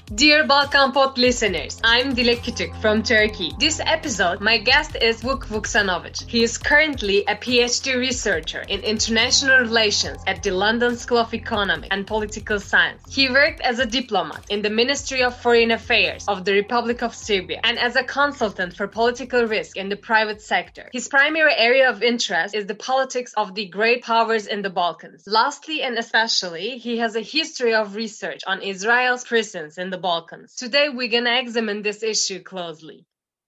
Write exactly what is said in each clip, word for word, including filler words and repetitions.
Dear Balkan Pod listeners, I'm Dilek Küçük from Turkey. This episode, my guest is Vuk Vuksanovic. He is currently a PhD researcher in international relations at the London School of Economic and Political Science. He worked as a diplomat in the Ministry of Foreign Affairs of the Republic of Serbia and as a consultant for political risk in the private sector. His primary area of interest is the politics of the great powers in the Balkans. Lastly and especially, he has a history of research on Israel's presence in the Balkans. Today, we're going to examine this issue closely.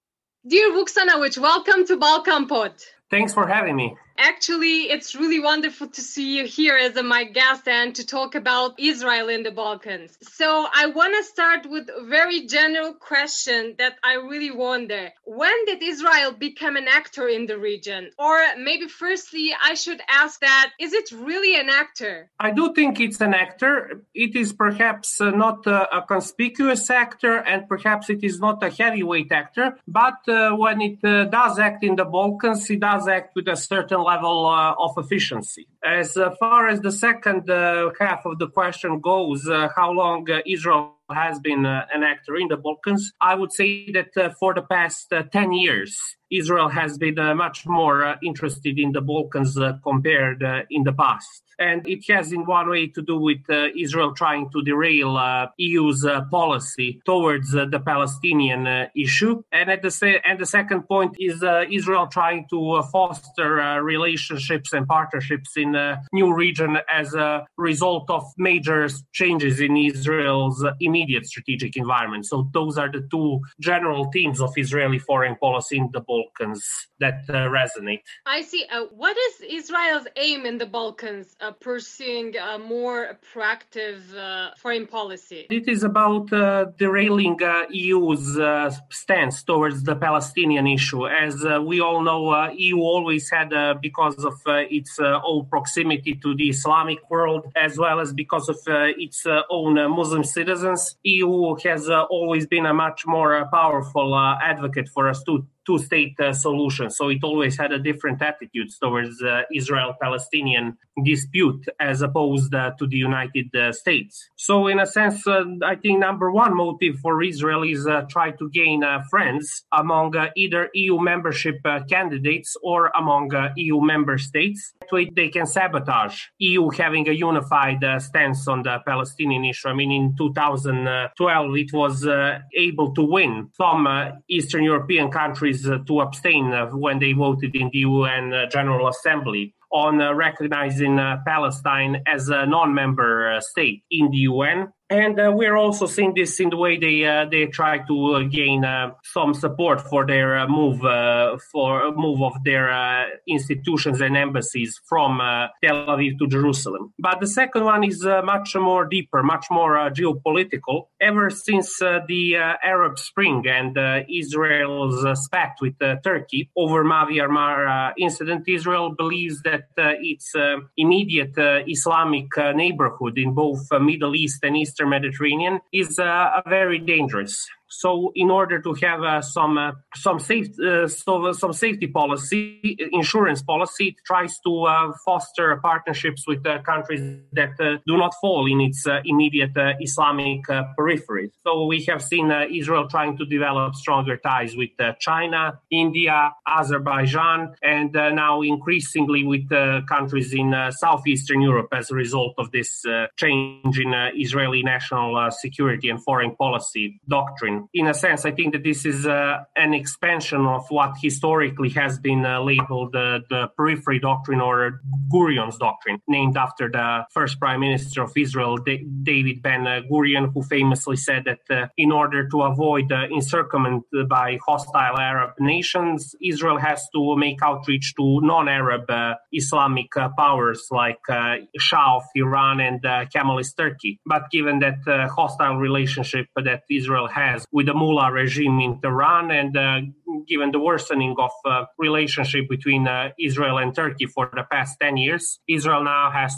Dear Vuksanovic, welcome to Balkan Pod. Thanks for having me. Actually, it's really wonderful to see you here as a, my guest and to talk about Israel in the Balkans. So I want to start with a very general question that I really wonder. When did Israel become an actor in the region? Or maybe firstly, I should ask that, is it really an actor? I do think it's an actor. It is perhaps uh, not uh, a conspicuous actor, and perhaps it is not a heavyweight actor. But uh, when it uh, does act in the Balkans, it does act with a certain level uh, of efficiency. As uh, far as the second uh, half of the question goes, uh, how long uh, Israel has been uh, an actor in the Balkans, I would say that uh, for the past uh, ten years, Israel has been uh, much more uh, interested in the Balkans uh, compared uh, in the past. And it has in one way to do with uh, Israel trying to derail uh, E U's uh, policy towards uh, the Palestinian uh, issue. And at the sa- and the second point is uh, Israel trying to uh, foster uh, relationships and partnerships in a new region as a result of major changes in Israel's uh, immediate strategic environment. So those are the two general themes of Israeli foreign policy in the Balkans that uh, resonate. I see. Uh, what is Israel's aim in the Balkans? Uh, pursuing a more proactive uh, foreign policy? It is about uh, derailing uh, E U's uh, stance towards the Palestinian issue. As uh, we all know, uh, E U always had, uh, because of uh, its uh, own proximity to the Islamic world, as well as because of uh, its uh, own uh, Muslim citizens, E U has uh, always been a much more uh, powerful uh, advocate for a two two-state uh, solution. So it always had a different attitude towards uh, Israel-Palestinian dispute as opposed uh, to the United uh, States. So in a sense, uh, I think number one motive for Israel is uh, try to gain uh, friends among uh, either E U membership uh, candidates or among uh, E U member states. That way they can sabotage E U having a unified uh, stance on the Palestinian issue. I mean, in two thousand twelve, it was uh, able to win some uh, Eastern European countries uh, to abstain uh, when they voted in the U N uh, General Assembly on uh, recognizing uh, Palestine as a non-member uh, state in the U N. And uh, we're also seeing this in the way they uh, they try to uh, gain uh, some support for their uh, move uh, for move of their uh, institutions and embassies from uh, Tel Aviv to Jerusalem. But the second one is uh, much more deeper, much more uh, geopolitical. Ever since uh, the uh, Arab Spring and uh, Israel's uh, spat with uh, Turkey over Mavi Armar uh, incident, Israel believes that uh, its uh, immediate uh, Islamic uh, neighborhood in both uh, Middle East and Eastern Mediterranean is uh, very dangerous. So in order to have uh, some uh, some safe uh, so, some safety policy, insurance policy, it tries to uh, foster partnerships with uh, countries that uh, do not fall in its uh, immediate uh, Islamic uh, periphery. So we have seen uh, Israel trying to develop stronger ties with uh, China, India, Azerbaijan, and uh, now increasingly with uh, countries in uh, southeastern Europe as a result of this uh, change in uh, Israeli national uh, security and foreign policy doctrine. In a sense, I think that this is uh, an expansion of what historically has been uh, labeled uh, the periphery doctrine or Gurion's doctrine, named after the first prime minister of Israel, D- David Ben Gurion, who famously said that uh, in order to avoid uh, encirclement by hostile Arab nations, Israel has to make outreach to non-Arab uh, Islamic uh, powers like uh, Shah of Iran and uh, Kemalist Turkey. But given that uh, hostile relationship that Israel has with the mullah regime in Tehran, and uh, given the worsening of uh, relationship between uh, Israel and Turkey for the past ten years, Israel now has to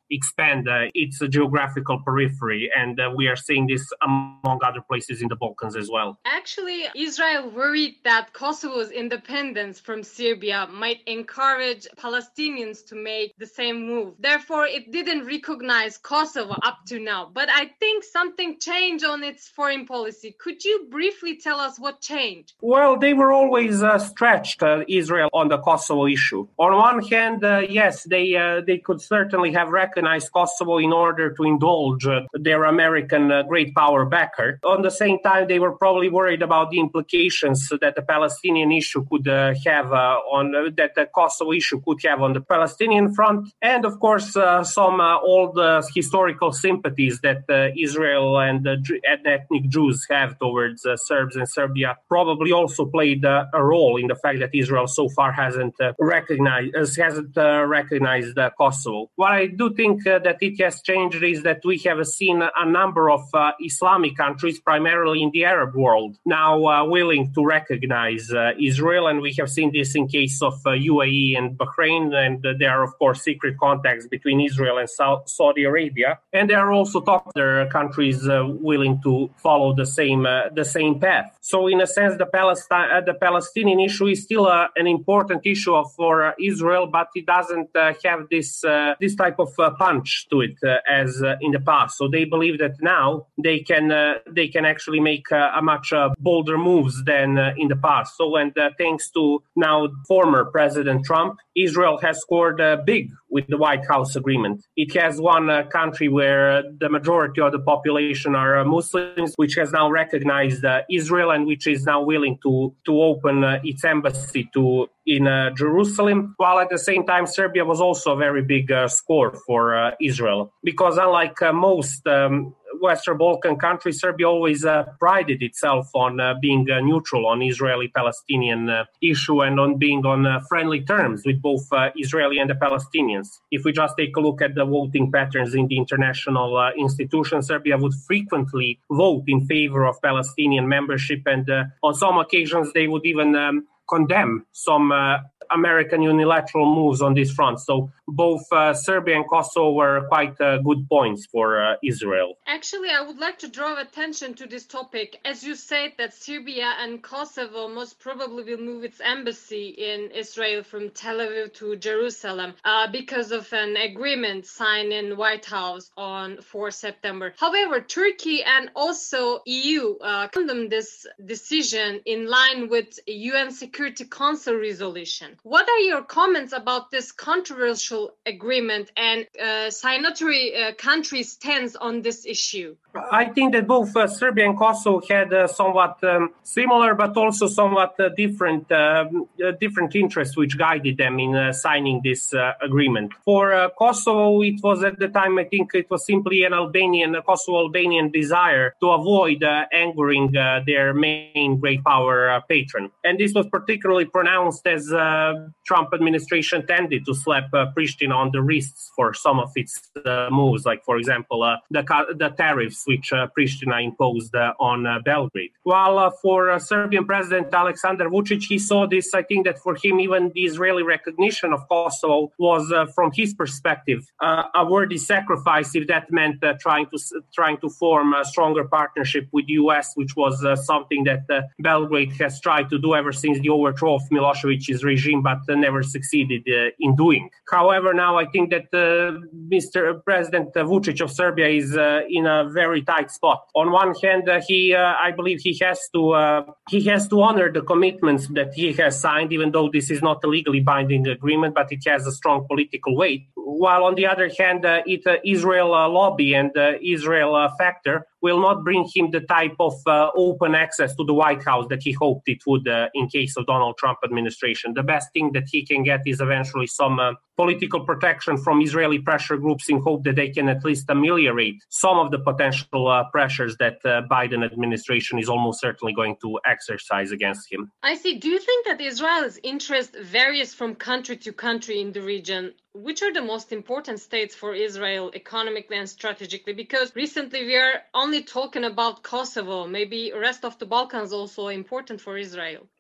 expand uh, its geographical periphery. And uh, we are seeing this among other places in the Balkans as well. Actually, Israel worried that Kosovo's independence from Serbia might encourage Palestinians to make the same move. Therefore, it didn't recognize Kosovo up to now. But I think something changed on its foreign policy. Could you briefly tell us what changed? Well, they were always uh, stretched, uh, Israel, on the Kosovo issue. On one hand, uh, yes, they uh, they could certainly have recognized Kosovo in order to indulge uh, their American uh, great power backer. On the same time, they were probably worried about the implications that the Palestinian issue could uh, have uh, on uh, that the Kosovo issue could have on the Palestinian front, and of course, uh, some uh, old uh, historical sympathies that uh, Israel and uh, ethnic Jews have towards uh, Serbs and Serbia probably also played uh, a role in the fact that Israel so far hasn't uh, recognized uh, hasn't uh, recognized uh, Kosovo. What I do think uh, that it has changed is that we have seen a number of uh, Islamic countries, primarily in the Arab world, now uh, willing to recognize uh, Israel, and we have seen this in case of uh, U A E and Bahrain, and uh, there are of course secret contacts between Israel and South Saudi Arabia, and there are also other countries uh, willing to follow the same uh, the same path. So in a sense, the Palestine uh, the Palestinian issue is still uh, an important issue for uh, Israel, but it doesn't uh, have this uh, this type of uh, punch to it uh, as uh, in the past. So they believe that now they can uh, they can actually make uh, a much uh, bolder moves than uh, in the past. So and uh, thanks to now former President Trump, Israel has scored uh, big with the White House agreement. It has one uh, country where the majority of the population are uh, Muslims, which has now recognized uh, Israel and which is now willing to to open uh, its embassy to in uh, Jerusalem, while at the same time Serbia was also a very big uh, score for uh, Israel, because unlike uh, most um, Western Balkan countries, Serbia always uh, prided itself on uh, being uh, neutral on Israeli-Palestinian uh, issue and on being on uh, friendly terms with both uh, Israeli and the Palestinians. If we just take a look at the voting patterns in the international uh, institutions, Serbia would frequently vote in favor of Palestinian membership, and uh, on some occasions they would even um, condemn some uh, American unilateral moves on this front. So both uh, Serbia and Kosovo were quite uh, good points for uh, Israel. Actually, I would like to draw attention to this topic. As you said that Serbia and Kosovo most probably will move its embassy in Israel from Tel Aviv to Jerusalem uh, because of an agreement signed in White House on fourth of September. However, Turkey and also E U uh, condemned this decision in line with U N Security Council resolution. What are your comments about this controversial agreement and uh, signatory uh, countries' stance on this issue? I think that both uh, Serbia and Kosovo had uh, somewhat um, similar, but also somewhat uh, different uh, uh, different interests which guided them in uh, signing this uh, agreement. For uh, Kosovo, it was at the time, I think it was simply an Albanian, a Kosovo-Albanian desire to avoid uh, angering uh, their main great power uh, patron. And this was particularly pronounced as uh, Trump administration tended to slap uh, Pristina on the wrists for some of its uh, moves, like, for example, uh, the, the tariffs which uh, Pristina imposed uh, on uh, Belgrade. While uh, for uh, Serbian President Aleksandar Vučić, he saw this, I think that for him, even the Israeli recognition of Kosovo was, uh, from his perspective, uh, a worthy sacrifice if that meant uh, trying to trying to form a stronger partnership with the U S, which was uh, something that uh, Belgrade has tried to do ever since the overthrow of Milosevic's regime, but uh, never succeeded uh, in doing. However, now I think that uh, Mister President Vučić of Serbia is uh, in a very tight spot. On one hand, uh, he, uh, I believe, he has to uh, he has to honor the commitments that he has signed, even though this is not a legally binding agreement, but it has a strong political weight. While on the other hand, uh, it uh, Israel uh, lobby and uh, Israel uh, factor will not bring him the type of uh, open access to the White House that he hoped it would uh, in case of Donald Trump administration. The best thing that he can get is eventually some uh, political protection from Israeli pressure groups in hope that they can at least ameliorate some of the potential uh, pressures that uh, Biden administration is almost certainly going to exercise against him. I see. Do you think that Israel's interest varies from country to country in the region? Which are the most important states for Israel economically and strategically? Because recently we are only talking about Kosovo. Maybe the rest of the Balkans also important for Israel.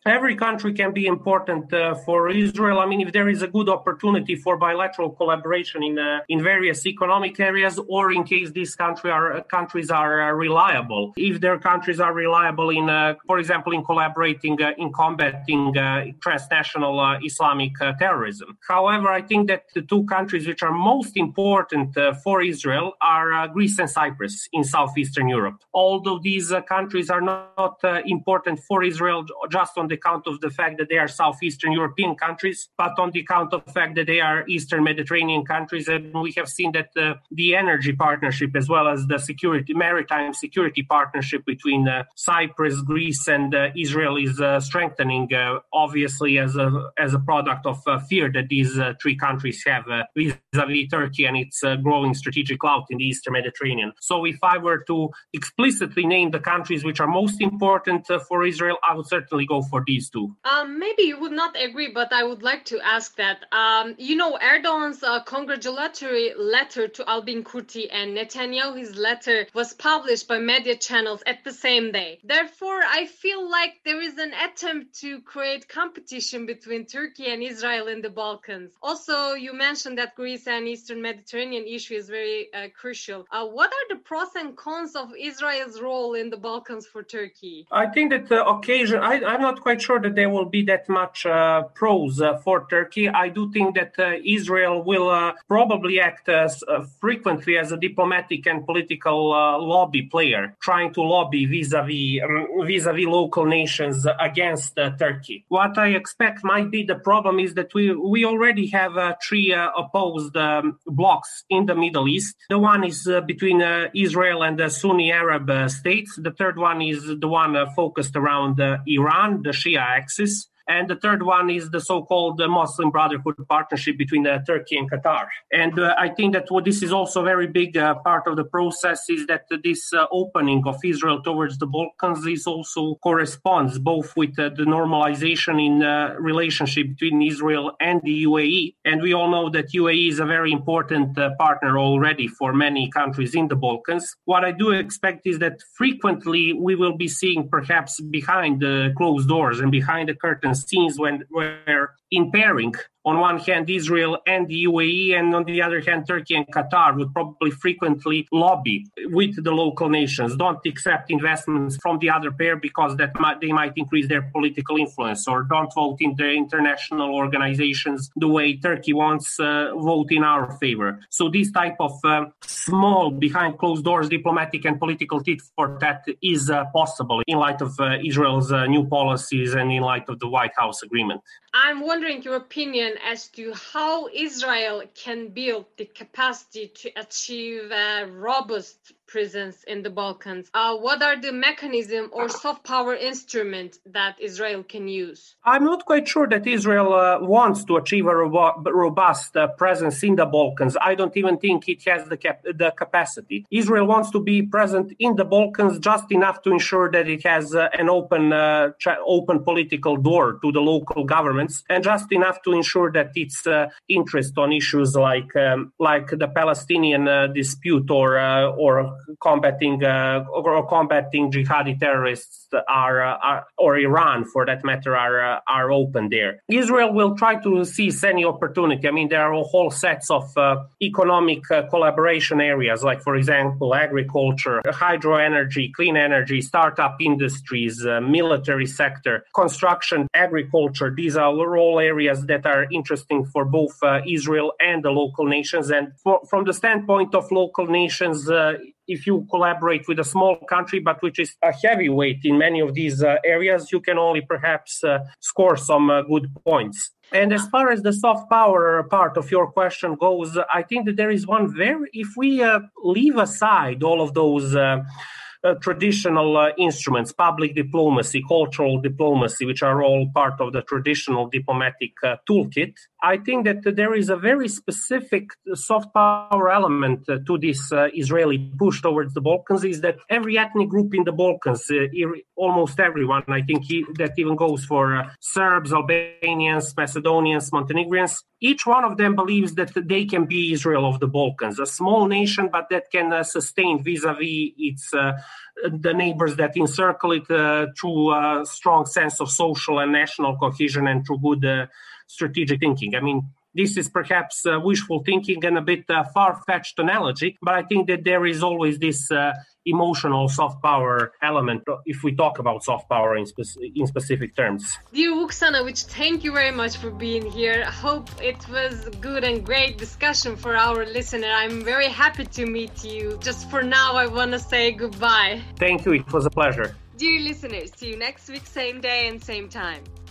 every country can be important uh, for Israel. I mean, if there is a good opportunity for bilateral collaboration in uh, in various economic areas, or in case these country are, uh, countries are uh, reliable, if their countries are reliable in, uh, for example, in collaborating uh, in combating uh, transnational uh, Islamic uh, terrorism. However, I think that the two countries which are most important uh, for Israel are uh, Greece and Cyprus in southeastern Europe. Although these uh, countries are not uh, important for Israel just on the count of the fact that they are southeastern European countries, but on the count of the fact that they are Eastern Mediterranean countries, and we have seen that uh, the energy partnership as well as the security, maritime security partnership between uh, Cyprus, Greece, and uh, Israel is uh, strengthening, uh, obviously as a as a product of uh, fear that these uh, three countries have uh, vis-a-vis Turkey and its uh, growing strategic clout in the Eastern Mediterranean. So if I were to explicitly name the countries which are most important uh, for Israel, I would certainly go for these two. Um, maybe you would not agree, but I would like to ask that. Um, you know, Erdogan's uh, congratulatory letter to Albin Kurti and Netanyahu's letter was published by media channels at the same day. Therefore, I feel like there is an attempt to create competition between Turkey and Israel in the Balkans. Also, you mentioned that Greece and Eastern Mediterranean issue is very uh, crucial. Uh, what are the pros and cons of Israel's role in the Balkans for Turkey? I think that the occasion, I, I'm not quite sure that there will be that much uh, pros uh, for Turkey. I do think that uh, Israel will uh, probably act as, uh, frequently as a diplomatic and political uh, lobby player, trying to lobby vis-a-vis, um, vis-a-vis local nations against uh, Turkey. What I expect might be the problem is that we, we already have uh, three uh, opposed um, blocs in the Middle East. The one is uh, between uh, Israel and the Sunni Arab uh, states. The third one is the one uh, focused around uh, Iran, the Shia axis. And the third one is the so-called uh, Muslim Brotherhood partnership between uh, Turkey and Qatar. And uh, I think that what this is also a very big uh, part of the process is that uh, this uh, opening of Israel towards the Balkans is also corresponds both with uh, the normalization in uh, relationship between Israel and the U A E. And we all know that U A E is a very important uh, partner already for many countries in the Balkans. What I do expect is that frequently we will be seeing perhaps behind the closed doors and behind the curtains scenes when where in pairing, on one hand, Israel and the U A E, and on the other hand, Turkey and Qatar would probably frequently lobby with the local nations, don't accept investments from the other pair because that might, they might increase their political influence, or don't vote in the international organizations the way Turkey wants, uh, vote in our favor. So this type of uh, small, behind closed doors, diplomatic and political tit for tat is uh, possible in light of uh, Israel's uh, new policies and in light of the White House agreement. I'm wondering your opinion as to how Israel can build the capacity to achieve a robust presence in the Balkans. Uh, what are the mechanism or soft power instrument that Israel can use? I'm not quite sure that Israel uh, wants to achieve a robo- robust uh, presence in the Balkans. I don't even think it has the cap- the capacity. Israel wants to be present in the Balkans just enough to ensure that it has uh, an open, uh, tra- open political door to the local governments, and just enough to ensure that its uh, interest on issues like um, like the Palestinian uh, dispute or uh, or combating uh, or combating jihadi terrorists are, uh, are or Iran for that matter are uh, are open there. Israel will try to seize any opportunity. I mean, there are whole sets of uh, economic uh, collaboration areas, like for example agriculture, hydro energy, clean energy, startup industries, uh, military sector, construction, agriculture. These are all areas that are interesting for both uh, Israel and the local nations. And for, from the standpoint of local nations, uh, if you collaborate with a small country, but which is a heavyweight in many of these uh, areas, you can only perhaps uh, score some uh, good points. And as far as the soft power part of your question goes, I think that there is one very, if we uh, leave aside all of those uh, Uh, traditional uh, instruments, public diplomacy, cultural diplomacy, which are all part of the traditional diplomatic uh, toolkit, I think that uh, there is a very specific soft power element uh, to this uh, Israeli push towards the Balkans, is that every ethnic group in the Balkans, uh, ir- almost everyone, I think he, that even goes for uh, Serbs, Albanians, Macedonians, Montenegrins, each one of them believes that they can be Israel of the Balkans, a small nation, but that can uh, sustain vis-a-vis its uh, the neighbors that encircle it uh, through a strong sense of social and national cohesion and through good uh, strategic thinking. I mean, this is perhaps uh, wishful thinking and a bit uh, far-fetched analogy, but I think that there is always this uh, emotional soft power element if we talk about soft power in, spe- in specific terms. Dear Vuksanovic, thank you very much for being here. I hope it was a good and great discussion for our listener. I'm very happy to meet you. Just for now, I want to say goodbye. Thank you. It was a pleasure. Dear listeners, see you next week, same day and same time.